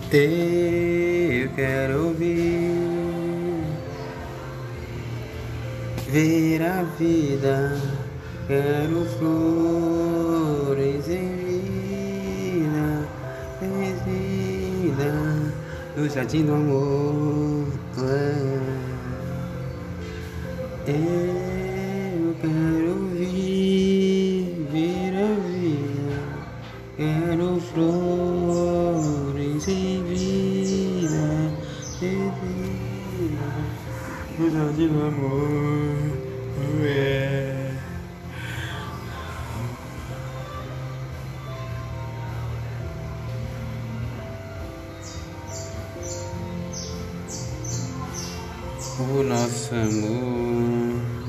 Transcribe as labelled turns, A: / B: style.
A: Eu quero ouvir, ver a vida, quero flores em vida, no jardim do amor. Eu quero ouvir, ver a vida, quero flores em vida, no jardim do amor. O nosso amor